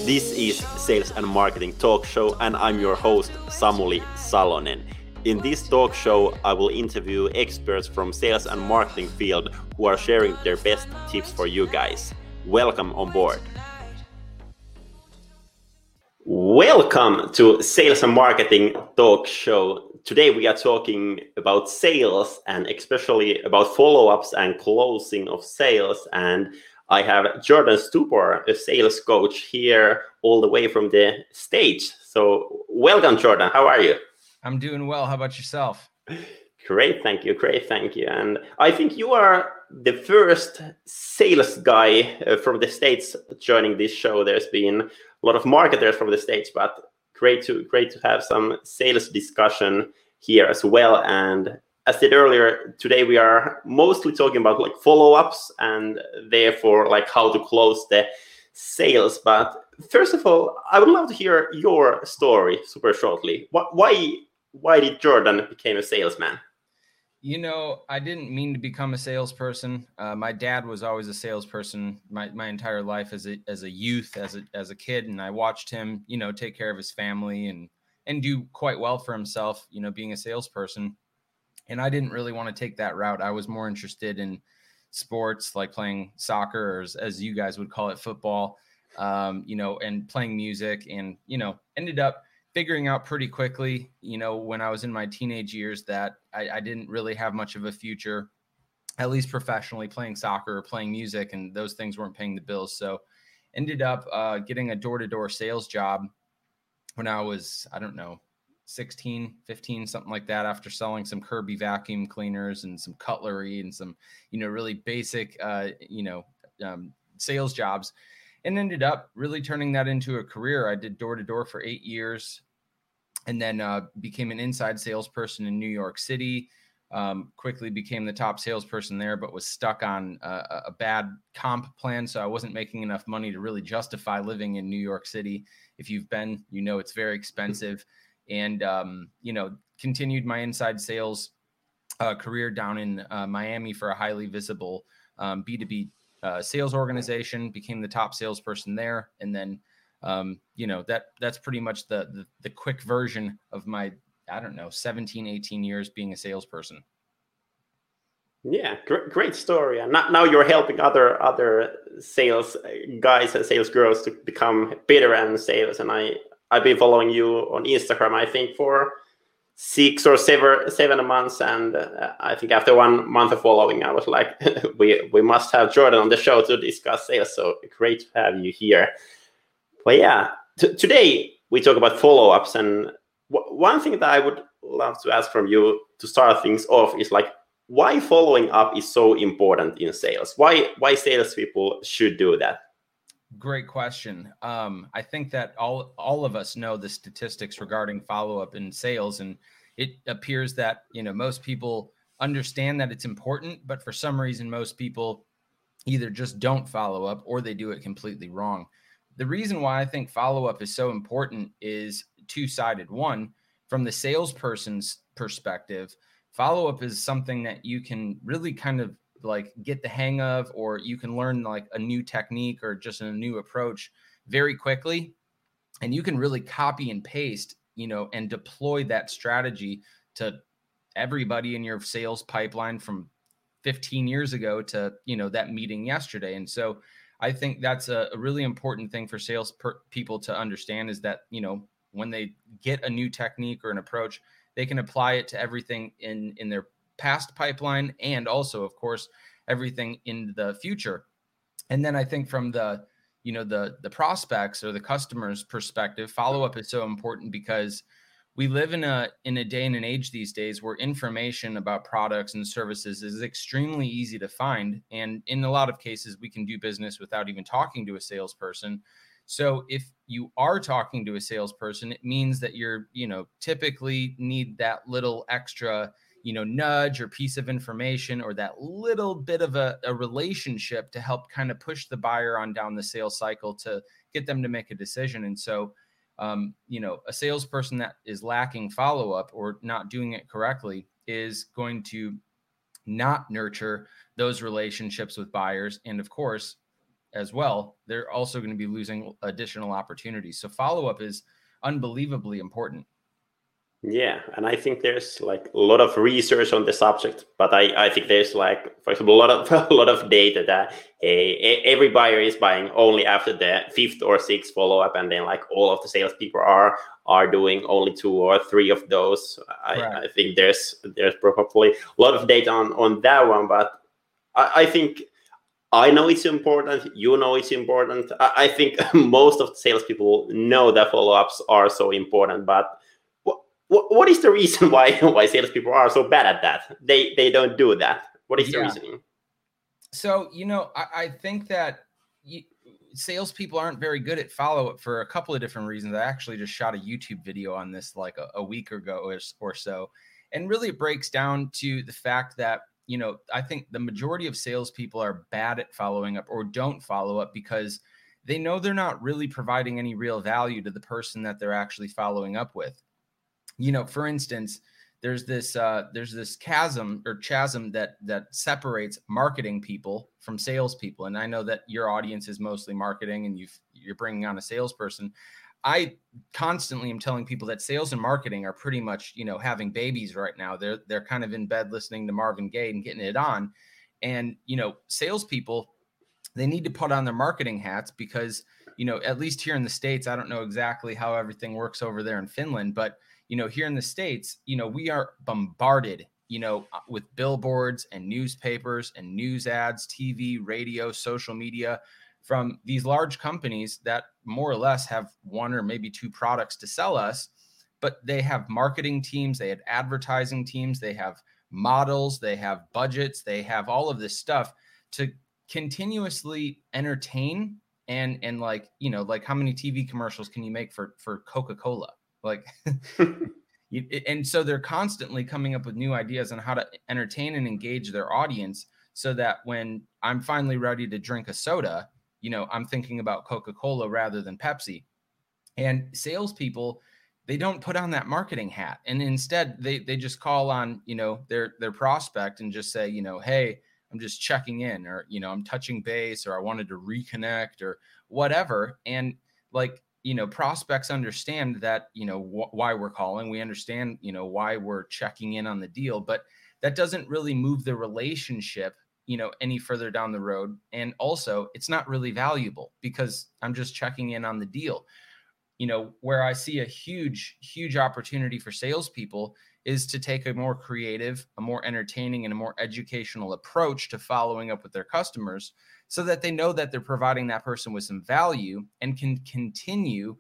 This is Sales and Marketing Talk Show, and I'm your host, Samuli Salonen. In this talk show, I will interview experts from sales and marketing field who are sharing their best tips for you guys. Welcome on board. Welcome to Sales and Marketing Talk Show. Today we are talking about sales and especially about follow-ups and closing of sales. And I have Jordan Stupor, a sales coach here all the way from the States. So welcome, Jordan. How are you? I'm doing well. How about yourself? Great, thank you. Great, thank you. And I think you are the first sales guy from the States joining this show. There's been a lot of marketers from the States, but great to have some sales discussion here as well. And as I said earlier, today we are mostly talking about like follow-ups and therefore like how to close the sales. But first of all, I would love to hear your story super shortly. Why did Jordan become a salesman? You know, I didn't mean to become a salesperson. My dad was always a salesperson my entire life as a youth, as a kid, and I watched him, take care of his family and do quite well for himself, being a salesperson. And I didn't really want to take that route. I was more interested in sports, like playing soccer, or as you guys would call it, football, and playing music, and ended up figuring out pretty quickly, when I was in my teenage years, that I didn't really have much of a future, at least professionally, playing soccer or playing music, and those things weren't paying the bills. So ended up getting a door-to-door sales job when I was, 16, 15, something like that, after selling some Kirby vacuum cleaners and some cutlery and some, really basic, sales jobs. And ended up really turning that into a career. I did door-to-door for 8 years and then became an inside salesperson in New York City. Quickly became the top salesperson there, but was stuck on a bad comp plan. So I wasn't making enough money to really justify living in New York City. If you've been, it's very expensive. And, continued my inside sales career down in Miami for a highly visible B2B sales organization, became the top salesperson there. And then, that's pretty much the quick version of my, 17, 18 years being a salesperson. Yeah, great story. And now you're helping other sales guys and sales girls to become better in sales. And I've been following you on Instagram, I think, for 6 or 7 months, and I think after 1 month of following, I was like, we must have Jordan on the show to discuss sales. So great to have you here. But yeah, today we talk about follow-ups, and one thing that I would love to ask from you to start things off is like, why following up is so important in sales? Why salespeople should do that? Great question. I think that all of us know the statistics regarding follow-up in sales, and it appears that most people understand that it's important, but for some reason most people either just don't follow up or they do it completely wrong. The reason why I think follow-up is so important is two-sided. One, from the salesperson's perspective, follow-up is something that you can really kind of like get the hang of, or you can learn like a new technique or just a new approach very quickly. And you can really copy and paste, and deploy that strategy to everybody in your sales pipeline from 15 years ago to, that meeting yesterday. And so I think that's a really important thing for sales people to understand, is that, when they get a new technique or an approach, they can apply it to everything in their past pipeline, and also, of course, everything in the future. And then I think from the prospects or the customer's perspective, follow-up is so important because we live in a day and an age these days where information about products and services is extremely easy to find. And in a lot of cases, we can do business without even talking to a salesperson. So if you are talking to a salesperson, it means that you're, typically need that little extra, nudge or piece of information, or that little bit of a relationship to help kind of push the buyer on down the sales cycle to get them to make a decision. And so, a salesperson that is lacking follow-up or not doing it correctly is going to not nurture those relationships with buyers. And of course, as well, they're also going to be losing additional opportunities. So follow-up is unbelievably important. Yeah, and I think there's like a lot of research on the subject, but I think there's like, for example, a lot of data that every buyer is buying only after the fifth or sixth follow up, and then like all of the salespeople are doing only 2 or 3 of those. I think there's probably a lot of data on that one, but I think I know it's important. You know it's important. I think most of the salespeople know that follow ups are so important, but what is the reason why salespeople are so bad at that? They don't do that. What is the reasoning? So, I think that salespeople aren't very good at follow-up for a couple of different reasons. I actually just shot a YouTube video on this like a week ago or so. And really it breaks down to the fact that, I think the majority of salespeople are bad at following up or don't follow up because they know they're not really providing any real value to the person that they're actually following up with. For instance, there's this chasm that separates marketing people from salespeople. And I know that your audience is mostly marketing and you're bringing on a salesperson. I constantly am telling people that sales and marketing are pretty much, having babies right now. They're kind of in bed listening to Marvin Gaye and getting it on. And, salespeople, they need to put on their marketing hats because, at least here in the States, I don't know exactly how everything works over there in Finland, but here in the States, we are bombarded, with billboards and newspapers and news ads, TV, radio, social media from these large companies that more or less have 1 or maybe 2 products to sell us, but they have marketing teams, they have advertising teams, they have models, they have budgets, they have all of this stuff to continuously entertain and like, like how many TV commercials can you make for Coca-Cola? Like, and so they're constantly coming up with new ideas on how to entertain and engage their audience so that when I'm finally ready to drink a soda, I'm thinking about Coca-Cola rather than Pepsi. And salespeople, they don't put on that marketing hat. And instead they just call on, their prospect and just say, hey, I'm just checking in, or, I'm touching base, or I wanted to reconnect or whatever. And like, prospects understand that, why we're calling. We understand, why we're checking in on the deal, but that doesn't really move the relationship, any further down the road. And also it's not really valuable because I'm just checking in on the deal. Where I see a huge, huge opportunity for salespeople is to take a more creative, a more entertaining, and a more educational approach to following up with their customers so that they know that they're providing that person with some value and can continue,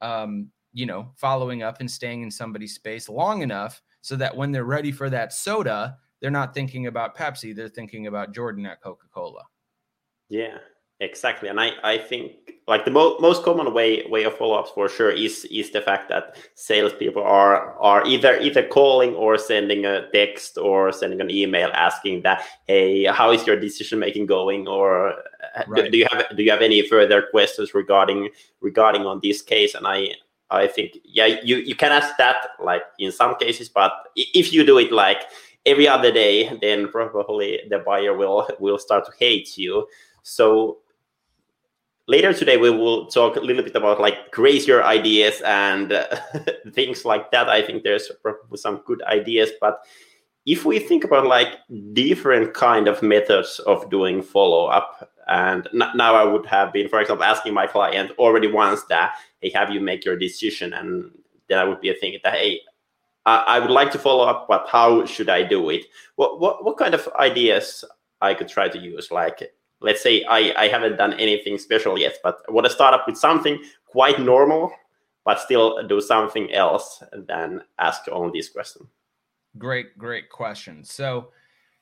following up and staying in somebody's space long enough so that when they're ready for that soda, they're not thinking about Pepsi, they're thinking about Jordan at Coca-Cola. Yeah, exactly. And I think like the most common way of follow-ups for sure is the fact that salespeople are either calling or sending a text or sending an email asking that, hey, how is your decision making going, or do you have any further questions regarding on this case? And I think you can ask that like in some cases, but if you do it like every other day, then probably the buyer will start to hate you. So later today, we will talk a little bit about like crazier ideas and things like that. I think there's probably some good ideas, but if we think about like different kind of methods of doing follow-up, and now I would have been, for example, asking my client already once that, hey, have you make your decision? And then I would be thinking that, hey, I would like to follow up, but how should I do it? What kind of ideas I could try to use? Like, let's say I haven't done anything special yet, but I want to start up with something quite normal, but still do something else than ask only this question. Great question. So,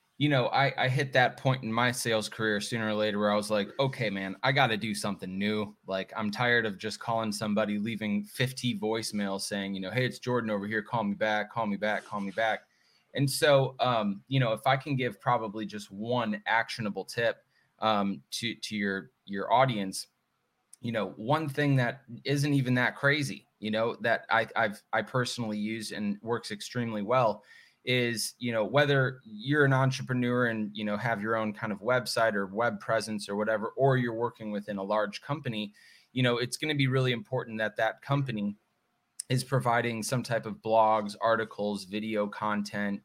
I hit that point in my sales career sooner or later where I was like, okay, man, I got to do something new. Like, I'm tired of just calling somebody, leaving 50 voicemails saying, hey, it's Jordan over here. Call me back, call me back, call me back. And so, if I can give probably just one actionable tip to your audience, one thing that isn't even that crazy, that I personally use and works extremely well is, whether you're an entrepreneur and, have your own kind of website or web presence or whatever, or you're working within a large company, it's going to be really important that that company is providing some type of blogs, articles, video content,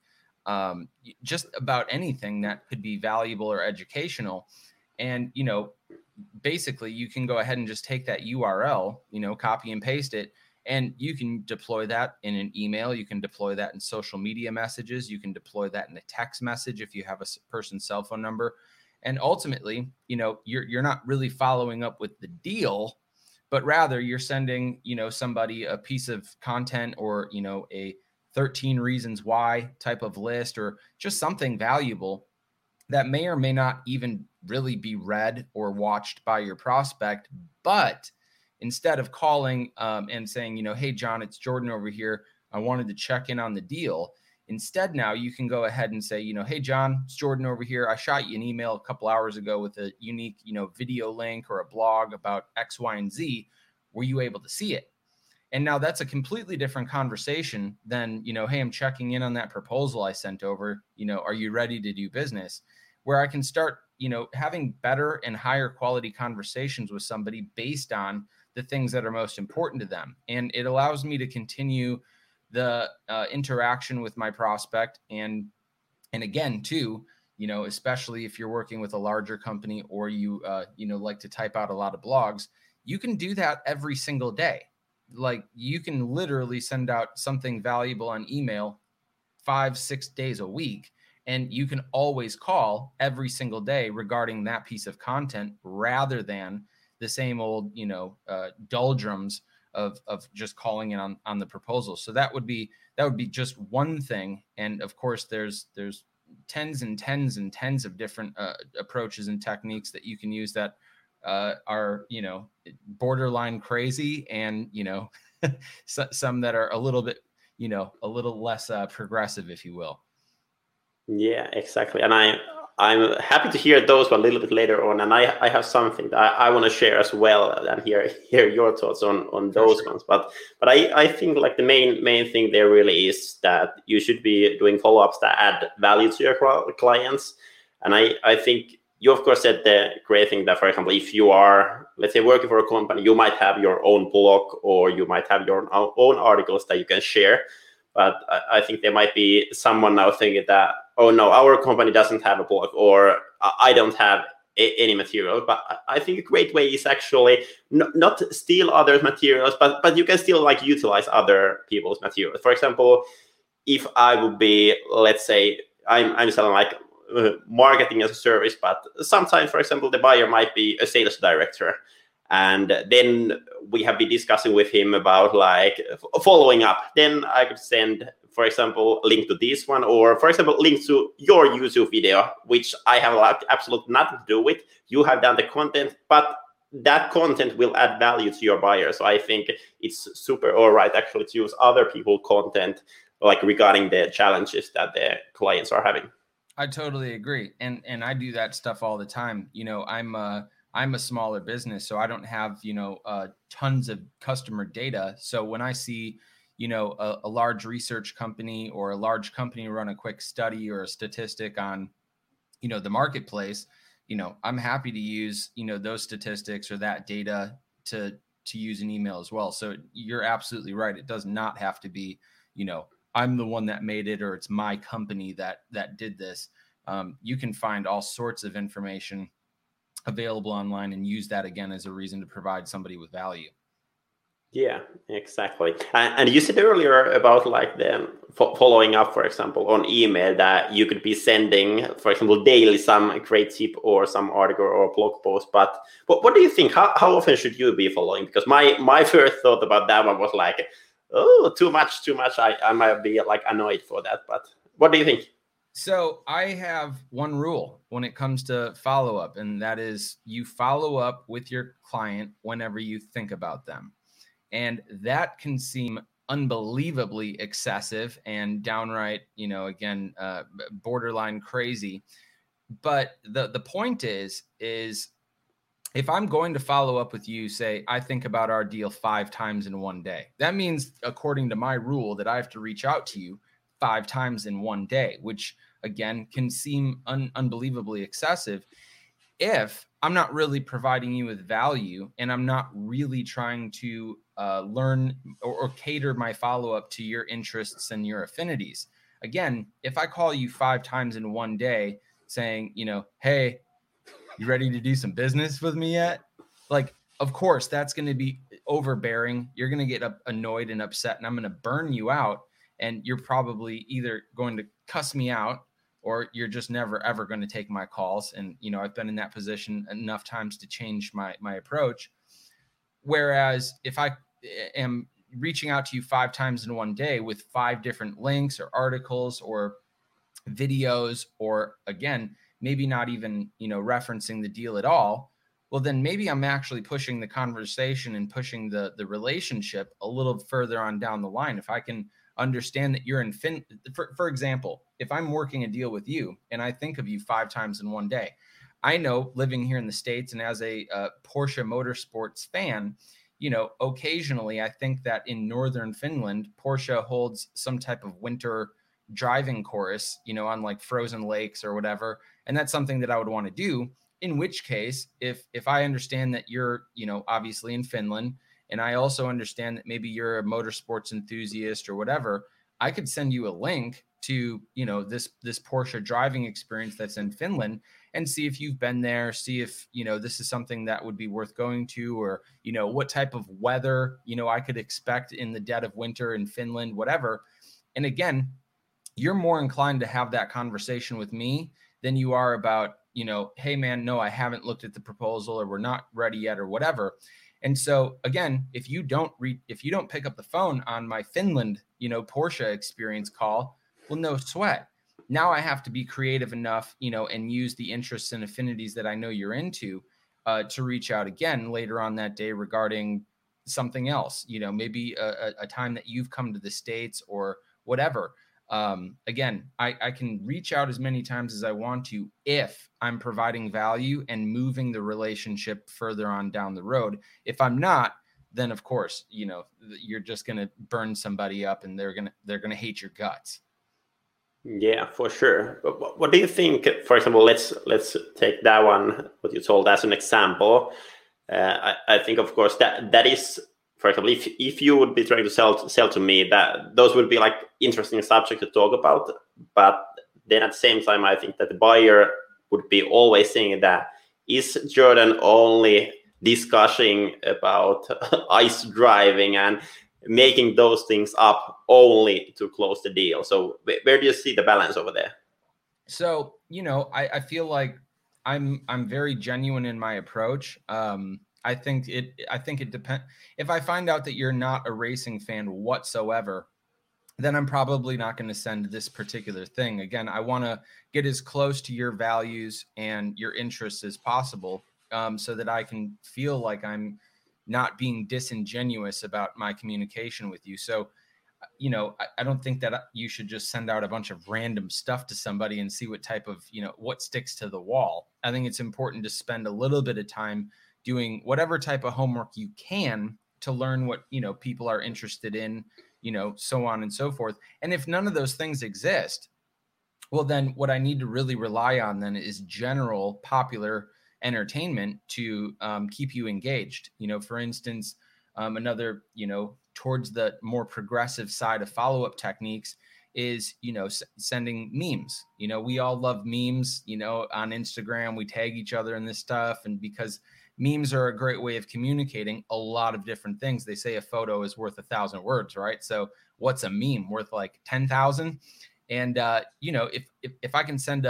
just about anything that could be valuable or educational. And, basically you can go ahead and just take that URL, copy and paste it, and you can deploy that in an email. You can deploy that in social media messages. You can deploy that in a text message if you have a person's cell phone number. And ultimately, you're not really following up with the deal, but rather you're sending, somebody a piece of content or, a 13 reasons why type of list, or just something valuable that may or may not even really be read or watched by your prospect. But instead of calling and saying, hey, John, it's Jordan over here, I wanted to check in on the deal. Instead, now you can go ahead and say, hey, John, it's Jordan over here. I shot you an email a couple hours ago with a unique, video link or a blog about X, Y, and Z. Were you able to see it? And now that's a completely different conversation than, hey, I'm checking in on that proposal I sent over. Are you ready to do business? Where I can start, having better and higher quality conversations with somebody based on the things that are most important to them. And it allows me to continue the interaction with my prospect. And again, too, especially if you're working with a larger company or you, like to type out a lot of blogs, you can do that every single day. Like you can literally send out something valuable on email 5-6 days a week. And you can always call every single day regarding that piece of content rather than the same old, doldrums of just calling in on the proposal. So that would be just one thing. And of course, there's tens and tens and tens of different approaches and techniques that you can use that are, borderline crazy, and, some that are a little bit, a little less progressive, if you will. Yeah, exactly. And I'm happy to hear those one a little bit later on. And I have something that I want to share as well and hear your thoughts on those ones. But I think like the main thing there really is that you should be doing follow-ups that add value to your clients. And I think you of course said the great thing that, for example, if you are, let's say, working for a company, you might have your own blog or you might have your own articles that you can share. But I think there might be someone now thinking that, oh no, our company doesn't have a blog, or I don't have any material. But I think a great way is actually not steal others' materials, but you can still like utilize other people's materials. For example, if I would be, let's say, I'm selling like marketing as a service, but sometimes, for example, the buyer might be a sales director. And then we have been discussing with him about like following up. Then I could send, for example, a link to this one, or for example, link to your YouTube video, which I have like absolutely nothing to do with. You have done the content, but that content will add value to your buyer. So I think it's super all right actually to use other people's content, like regarding the challenges that the clients are having. I totally agree. And I do that stuff all the time. I'm a smaller business, so I don't have, tons of customer data. So when I see, a large research company or a large company run a quick study or a statistic on, the marketplace, I'm happy to use, those statistics or that data to use an email as well. So you're absolutely right. It does not have to be, I'm the one that made it, or it's my company that did this. You can find all sorts of information available online and use that again as a reason to provide somebody with value. Yeah, exactly. And you said earlier about like the following up, for example, on email, that you could be sending, for example, daily some great tip or some article or blog post. But what do you think? How often should you be following? Because my first thought about that one was like, oh, too much. I might be like annoyed for that. But what do you think? So I have one rule when it comes to follow-up, and that is you follow up with your client whenever you think about them. And that can seem unbelievably excessive and downright, again, borderline crazy. But the point is if I'm going to follow up with you, say, I think about our deal 5 times in one day, that means, according to my rule, that I have to reach out to you 5 times in one day, which again can seem unbelievably excessive if I'm not really providing you with value and I'm not really trying to learn or cater my follow-up to your interests and your affinities. Again, if I call you 5 times in one day saying, hey, you ready to do some business with me yet? Like, of course, that's going to be overbearing. You're going to get annoyed and upset, and I'm going to burn you out. And you're probably either going to cuss me out or you're just never, ever going to take my calls. And, I've been in that position enough times to change my approach. Whereas if I am reaching out to you 5 times in one day with 5 different links or articles or videos, or again, maybe not even, referencing the deal at all, well, then maybe I'm actually pushing the conversation and pushing the relationship a little further on down the line. If I can understand that you're in for example, if I'm working a deal with you and I think of you 5 times in one day, I know living here in the States and as a Porsche Motorsports fan, occasionally I think that in northern Finland, Porsche holds some type of winter driving course, on like frozen lakes or whatever. And that's something that I would want to do. In which case, if I understand that you're, obviously in Finland, and I also understand that maybe you're a motorsports enthusiast or whatever, I could send you a link to, this Porsche driving experience that's in Finland and see if you've been there, see if, this is something that would be worth going to, or, what type of weather, I could expect in the dead of winter in Finland, whatever. And again, you're more inclined to have that conversation with me than you are about, hey man, no, I haven't looked at the proposal, or we're not ready yet, or whatever. And so again, if you don't pick up the phone on my Finland, Porsche experience call, well, no sweat. Now I have to be creative enough, and use the interests and affinities that I know you're into to reach out again later on that day regarding something else, maybe a time that you've come to the States or whatever. Again, I can reach out as many times as I want to if I'm providing value and moving the relationship further on down the road. If I'm not, then of course, you're just going to burn somebody up and they're going to hate your guts. Yeah, for sure. But what do you think? For example, let's take that one, what you told as an example. I think, of course, that is, for example, if you would be trying to sell to me, that those would be like interesting subjects to talk about. But then at the same time, I think that the buyer would be always saying that, is Jordan only discussing about ice driving and making those things up only to close the deal? So where do you see the balance over there? So, I feel like I'm very genuine in my approach. I think it depends. If I find out that you're not a racing fan whatsoever, then I'm probably not going to send this particular thing. Again, I want to get as close to your values and your interests as possible, so that I can feel like I'm not being disingenuous about my communication with you. So, I don't think that you should just send out a bunch of random stuff to somebody and see what type of, what sticks to the wall. I think it's important to spend a little bit of time doing whatever type of homework you can to learn what, people are interested in, so on and so forth. And if none of those things exist, well, then what I need to really rely on then is general popular entertainment to keep you engaged. For instance, another, towards the more progressive side of follow-up techniques is, sending memes. We all love memes, on Instagram, we tag each other in this stuff. And because memes are a great way of communicating a lot of different things. They say a photo is worth 1,000 words, right? So what's a meme worth? Like 10,000? And, if I can send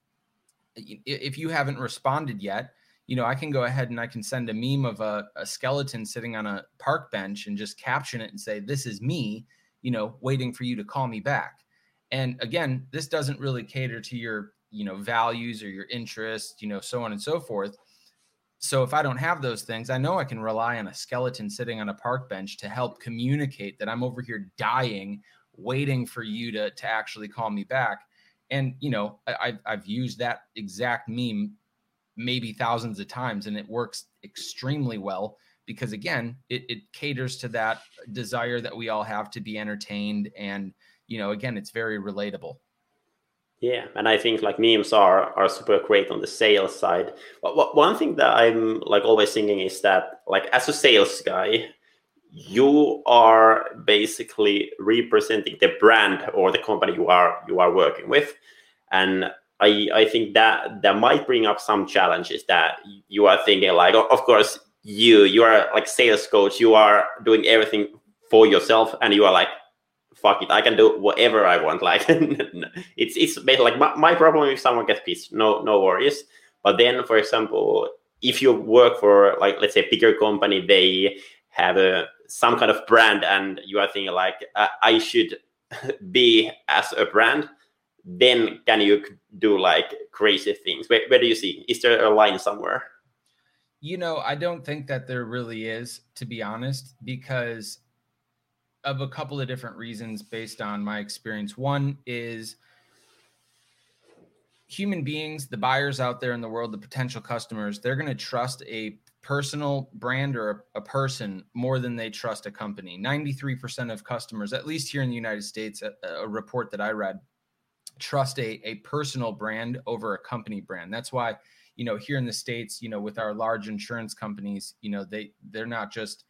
if you haven't responded yet, I can go ahead and I can send a meme of a skeleton sitting on a park bench and just caption it and say, this is me, waiting for you to call me back. And again, this doesn't really cater to your, values or your interests, so on and so forth. So if I don't have those things, I know I can rely on a skeleton sitting on a park bench to help communicate that I'm over here dying, waiting for you to actually call me back. And, I've used that exact meme maybe thousands of times, and it works extremely well because, again, it caters to that desire that we all have to be entertained and, again, it's very relatable. Yeah, and I think like memes are super great on the sales side. But one thing that I'm like always thinking is that like as a sales guy, you are basically representing the brand or the company you are working with, and I think that might bring up some challenges that you are thinking like, of course you are like sales coach, you are doing everything for yourself, and you are like, fuck it, I can do whatever I want. Like it's basically like my problem if someone gets pissed, no worries. But then, for example, if you work for like let's say a bigger company, they have some kind of brand, and you are thinking like I should be as a brand. Then can you do like crazy things? Where do you see? Is there a line somewhere? I don't think that there really is, to be honest, because of a couple of different reasons based on my experience. One is human beings, the buyers out there in the world, the potential customers, they're going to trust a personal brand or a person more than they trust a company. 93% of customers, at least here in the United States, a report that I read, trust a personal brand over a company brand. That's why, here in the States, with our large insurance companies, they're not just,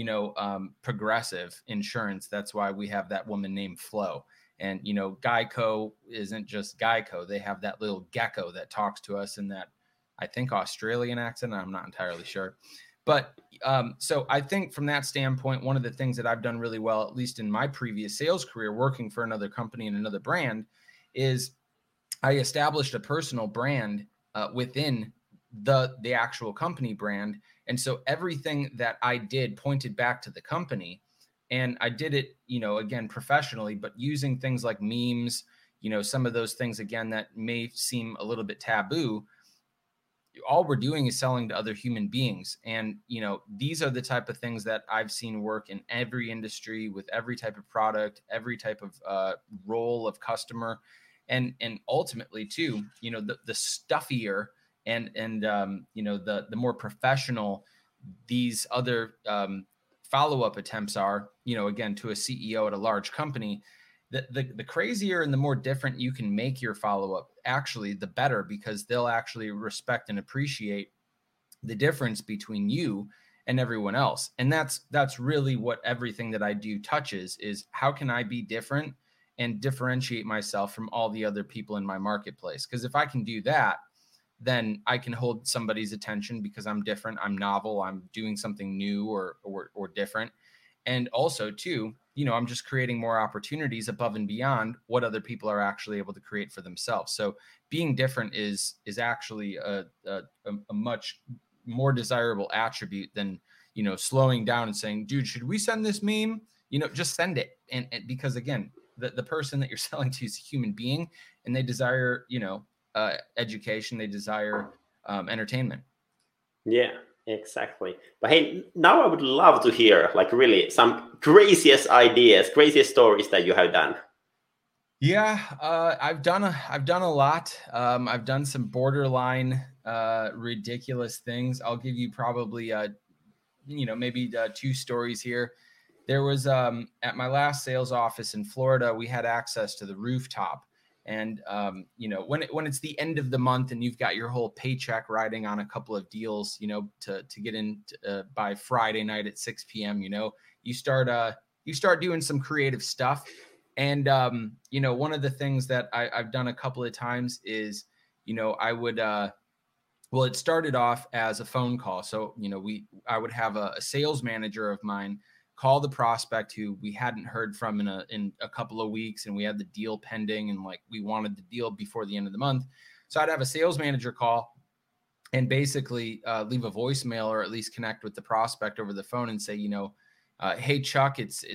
Progressive Insurance. That's why we have that woman named Flo. And, Geico isn't just Geico. They have that little gecko that talks to us in that, I think, Australian accent. I'm not entirely sure. But so I think from that standpoint, one of the things that I've done really well, at least in my previous sales career, working for another company and another brand, is I established a personal brand within the actual company brand. And so everything that I did pointed back to the company. And I did it, again, professionally, but using things like memes, some of those things, again, that may seem a little bit taboo. All we're doing is selling to other human beings. And, these are the type of things that I've seen work in every industry with every type of product, every type of role of customer. And ultimately too, the stuffier and the more professional these other follow-up attempts are, again, to a CEO at a large company, the crazier and the more different you can make your follow-up, actually, the better, because they'll actually respect and appreciate the difference between you and everyone else. And that's really what everything that I do touches, is how can I be different and differentiate myself from all the other people in my marketplace? Because if I can do that, then I can hold somebody's attention because I'm different, I'm novel, I'm doing something new or different. And also too, I'm just creating more opportunities above and beyond what other people are actually able to create for themselves. So being different is actually a much more desirable attribute than, slowing down and saying, dude, should we send this meme? Just send it. And because again, the person that you're selling to is a human being, and they desire, education, they desire entertainment. Yeah, exactly. But hey, now I would love to hear like really some craziest ideas, craziest stories that you have done. Yeah, I've done a lot. I've done some borderline ridiculous things. I'll give you probably maybe two stories here. There was at my last sales office in Florida, we had access to the rooftop. And, when it's the end of the month and you've got your whole paycheck riding on a couple of deals, to get in by Friday night at 6 p.m., you start doing some creative stuff. And, one of the things that I've done a couple of times is, I would, well, it started off as a phone call. So, I would have a sales manager of mine call the prospect who we hadn't heard from in a couple of weeks, and we had the deal pending, and like we wanted the deal before the end of the month. So I'd have a sales manager call and basically leave a voicemail, or at least connect with the prospect over the phone and say, hey Chuck, it's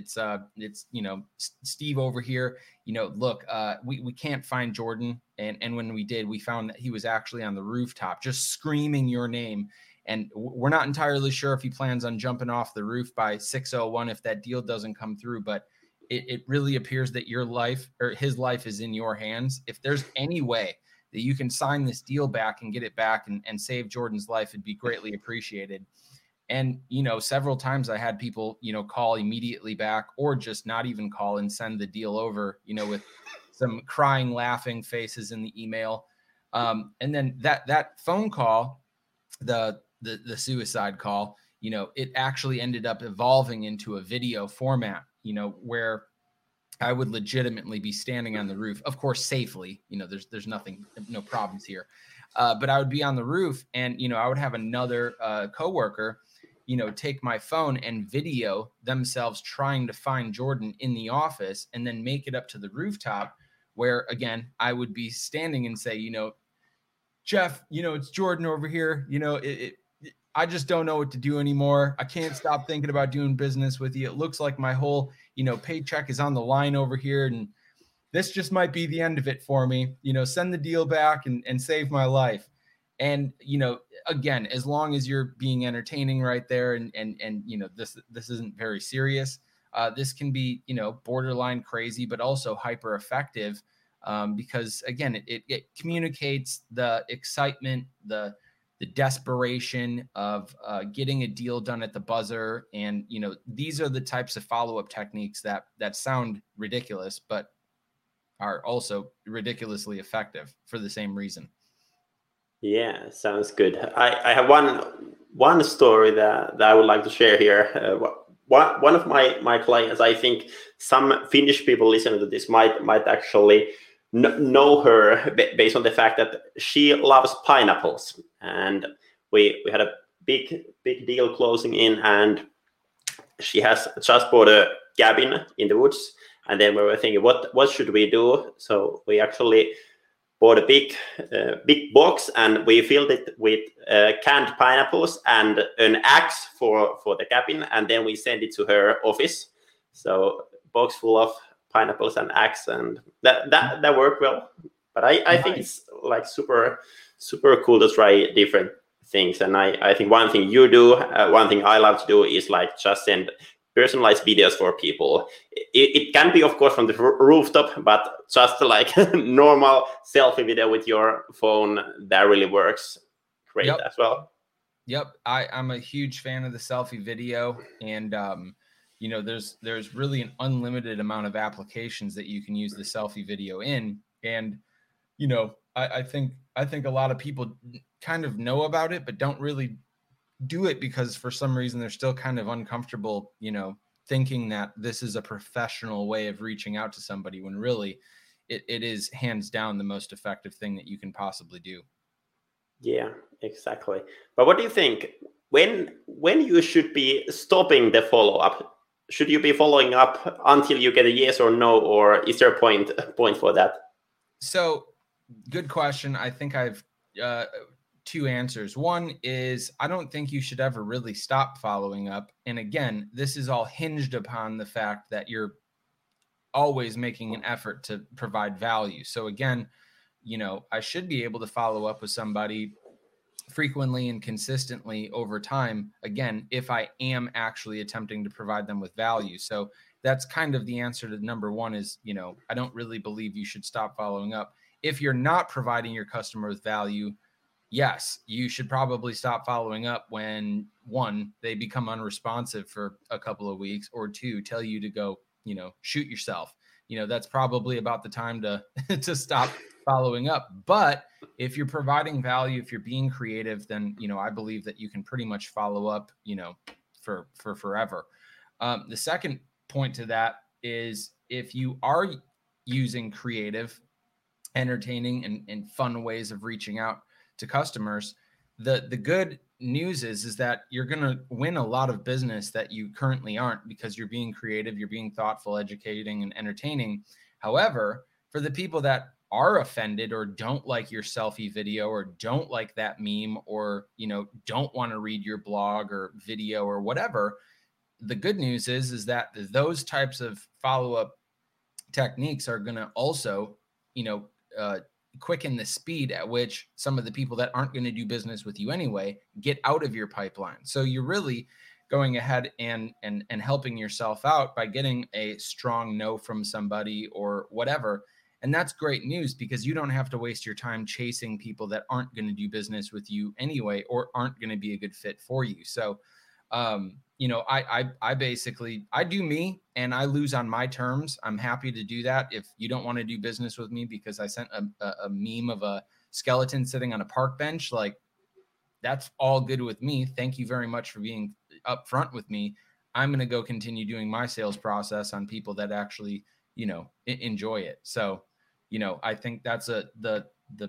Steve over here. Look, we can't find Jordan, and when we did, we found that he was actually on the rooftop just screaming your name. And we're not entirely sure if he plans on jumping off the roof by 6:01 if that deal doesn't come through. But it really appears that your life, or his life, is in your hands. If there's any way that you can sign this deal back and get it back and save Jordan's life, it'd be greatly appreciated. And, you know, several times I had people, you know, call immediately back or just not even call and send the deal over, you know, with some crying, laughing faces in the email. And then that phone call, the suicide call, you know, it actually ended up evolving into a video format, you know, where I would legitimately be standing on the roof, of course, safely, you know, there's nothing, no problems here. But I would be on the roof and, you know, I would have another coworker, you know, take my phone and video themselves trying to find Jordan in the office and then make it up to the rooftop where, again, I would be standing and say, you know, Jeff, you know, it's Jordan over here. You know, I just don't know what to do anymore. I can't stop thinking about doing business with you. It looks like my whole, you know, paycheck is on the line over here. And this just might be the end of it for me. You know, send the deal back and save my life. And, you know, again, as long as you're being entertaining right there and you know, this isn't very serious. This can be, you know, borderline crazy, but also hyper effective. Because again, it communicates the excitement, the desperation of getting a deal done at the buzzer. And, you know, these are the types of follow-up techniques that sound ridiculous, but are also ridiculously effective for the same reason. Yeah, sounds good. I have one story that I would like to share here. One of my clients, I think some Finnish people listening to this might actually know her based on the fact that she loves pineapples, and we had a big deal closing in, and she has just bought a cabin in the woods, and then we were thinking what should we do. So we actually bought a big box, and we filled it with canned pineapples and an axe for the cabin, and then we sent it to her office. So box full of pineapples and axe, and that worked well. But I think it's like super cool to try different things. And I think one thing you do, one thing I love to do is like just send personalized videos for people. It can be, of course, from the rooftop, but just like normal selfie video with your phone, that really works great as well. Yep, I'm a huge fan of the selfie video, and you know, there's really an unlimited amount of applications that you can use the selfie video in, and you know, I think a lot of people kind of know about it, but don't really do it because for some reason they're still kind of uncomfortable, you know, thinking that this is a professional way of reaching out to somebody when really it is hands down the most effective thing that you can possibly do. Yeah, exactly. But what do you think when you should be stopping the follow-up? Should you be following up until you get a yes or no, or is there a point for that? So good question. I think I've two answers. One is I don't think you should ever really stop following up. And again, this is all hinged upon the fact that you're always making an effort to provide value. So again, you know, I should be able to follow up with somebody frequently and consistently over time, again, if I am actually attempting to provide them with value. So that's kind of the answer to number one is, you know, I don't really believe you should stop following up. If you're not providing your customer with value, yes, you should probably stop following up when one, they become unresponsive for a couple of weeks, or two, tell you to go, you know, shoot yourself. You know, that's probably about the time to to stop following up. But if you're providing value, if you're being creative, then, you know, I believe that you can pretty much follow up, you know, for forever. The second point to that is if you are using creative, entertaining and fun ways of reaching out to customers, the good news is that you're going to win a lot of business that you currently aren't because you're being creative, you're being thoughtful, educating, and entertaining. However, for the people that are offended or don't like your selfie video or don't like that meme or, you know, don't want to read your blog or video or whatever, the good news is that those types of follow-up techniques are going to also, you know, quicken the speed at which some of the people that aren't going to do business with you anyway get out of your pipeline. So you're really going ahead and helping yourself out by getting a strong no from somebody or whatever. And that's great news because you don't have to waste your time chasing people that aren't going to do business with you anyway or aren't going to be a good fit for you. So I basically, I do me and I lose on my terms. I'm happy to do that. If you don't want to do business with me because I sent a meme of a skeleton sitting on a park bench, like, that's all good with me. Thank you very much for being upfront with me. I'm going to go continue doing my sales process on people that actually, enjoy it. So, I think that's the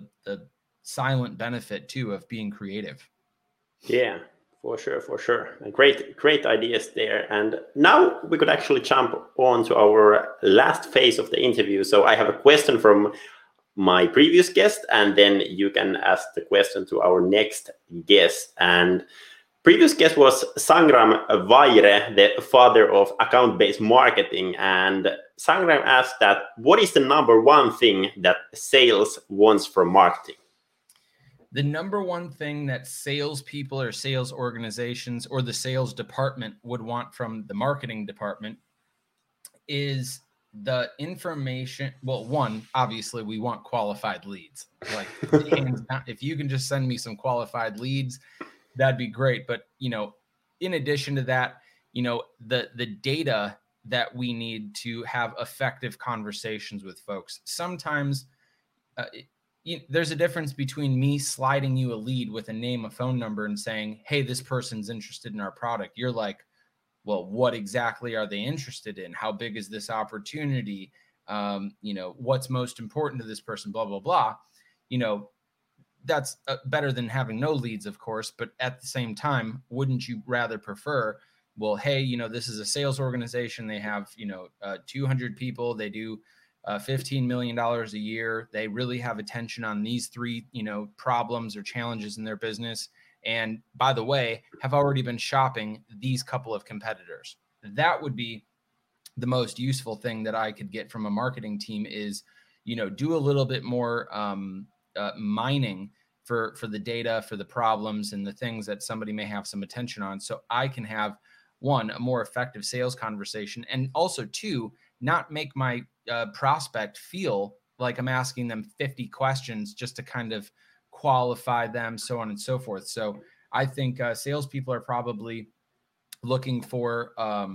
silent benefit too of being creative. Yeah, for sure. Great ideas there. And now we could actually jump on to our last phase of the interview. So I have a question from my previous guest, and then you can ask the question to our next guest. And previous guest was Sangram Vaire, the father of account-based marketing. And Sangram asked that, what is the number one thing that sales wants from marketing? The number one thing that salespeople or sales organizations or the sales department would want from the marketing department is the information. Well, one, obviously we want qualified leads. Like, hands down, if you can just send me some qualified leads, that'd be great. But, in addition to that, the data that we need to have effective conversations with folks. Sometimes there's a difference between me sliding you a lead with a name, a phone number, and saying, hey, this person's interested in our product. You're like, well, what exactly are they interested in? How big is this opportunity? What's most important to this person, blah, blah, blah. That's better than having no leads, of course. But at the same time, wouldn't you rather prefer, well, hey, this is a sales organization. They have, 200 people. They do $15 million a year. They really have attention on these three, problems or challenges in their business. And by the way, have already been shopping these couple of competitors. That would be the most useful thing that I could get from a marketing team is, do a little bit more mining for the data, for the problems and the things that somebody may have some attention on. So I can have, one, a more effective sales conversation, and also two, not make my prospect feel like I'm asking them 50 questions just to kind of qualify them, so on and so forth. So I think salespeople are probably looking for,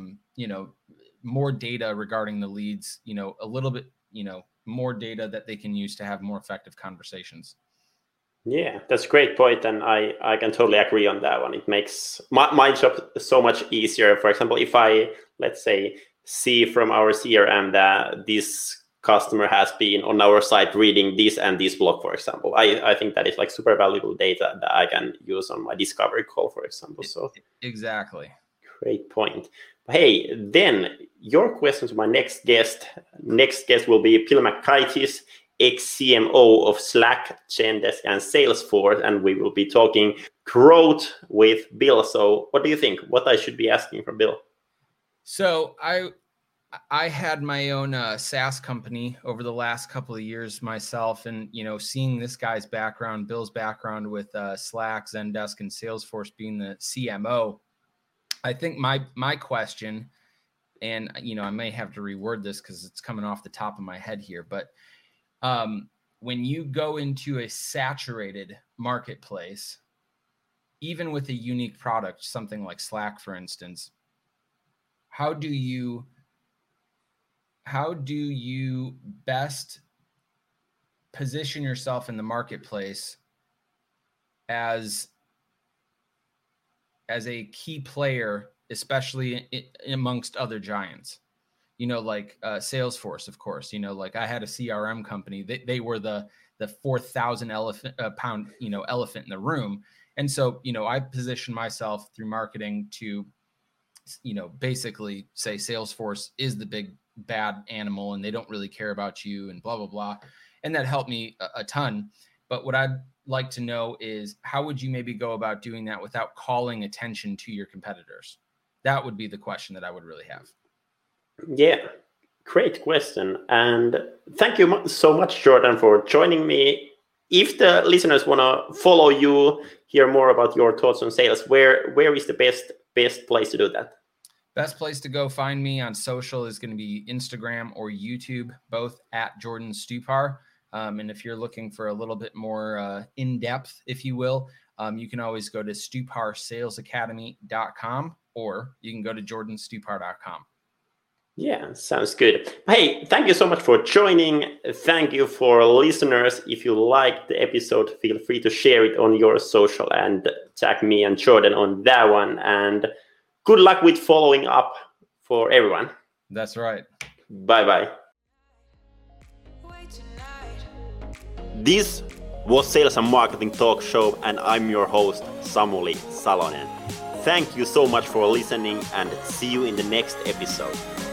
more data regarding the leads, a little bit, more data that they can use to have more effective conversations. Yeah, that's a great point, and I can totally agree on that one. It makes my job so much easier. For example, if I, let's say, see from our CRM that this customer has been on our site reading this and this blog, for example, I think that is like super valuable data that I can use on my discovery call, for example. So exactly. Great point. Hey, then your question to my next guest. Next guest will be Bill McKitis, ex-CMO of Slack, Zendesk, and Salesforce, and we will be talking growth with Bill. So what do you think? What I should be asking from Bill? So I had my own SaaS company over the last couple of years myself, and seeing this guy's background, Bill's background with Slack, Zendesk, and Salesforce being the CMO, I think my question, and I may have to reword this because it's coming off the top of my head here, but when you go into a saturated marketplace, even with a unique product, something like Slack, for instance, how do you best position yourself in the marketplace as a key player, especially amongst other giants? Like Salesforce, of course, like I had a CRM company. They were the 4,000 pound, elephant in the room. And so, I position myself through marketing to, basically say Salesforce is the big bad animal and they don't really care about you and blah, blah, blah. And that helped me a ton. But what I'd like to know is, how would you maybe go about doing that without calling attention to your competitors? That would be the question that I would really have. Yeah, great question. And thank you so much, Jordan, for joining me. If the listeners want to follow you, hear more about your thoughts on sales, where is the best place to do that? Best place to go find me on social is going to be Instagram or YouTube, both at Jordan Stupar. And if you're looking for a little bit more in-depth, if you will, you can always go to stuparsalesacademy.com. or you can go to jordanstupar.com. Yeah, sounds good. Hey, thank you so much for joining. Thank you for listeners. If you liked the episode, feel free to share it on your social and tag me and Jordan on that one. And good luck with following up for everyone. That's right. Bye-bye. This was Sales and Marketing Talk Show, and I'm your host, Samuli Salonen. Thank you so much for listening, and see you in the next episode.